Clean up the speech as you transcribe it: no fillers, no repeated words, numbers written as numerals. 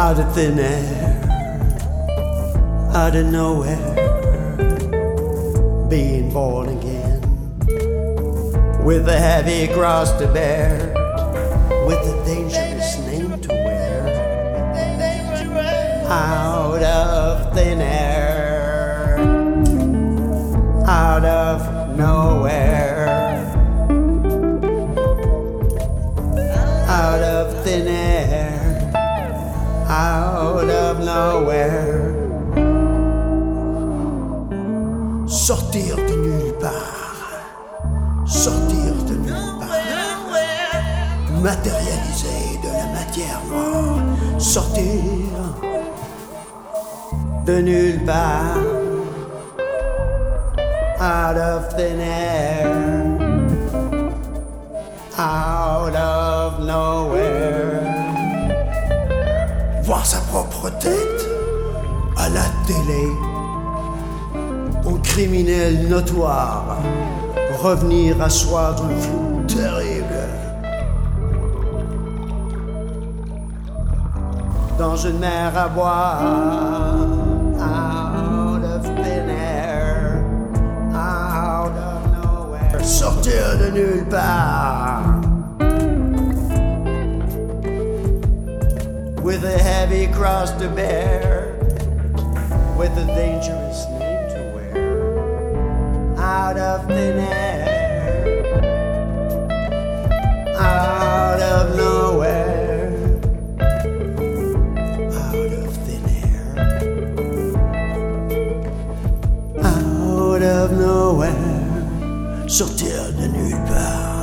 out of thin air, out of nowhere, being born again, with a heavy cross to bear, with a dangerous name to wear, out of thin air, out of nowhere, out of thin air, out of nowhere. Sortir de nulle part, sortir de nulle part, matérialiser de la matière noire, sortir de nulle part, out of thin air, out of nowhere. Voir sa propre tête à la télé, en criminel notoire, revenir à soi dans le flou terrible, dans une mer à boire, out of thin air, out of nowhere, sortir de nulle part, with a heavy cross to bear, with a dangerous name to wear, out of thin air, out of nowhere, out of thin air, out of nowhere, sortir de nulle part.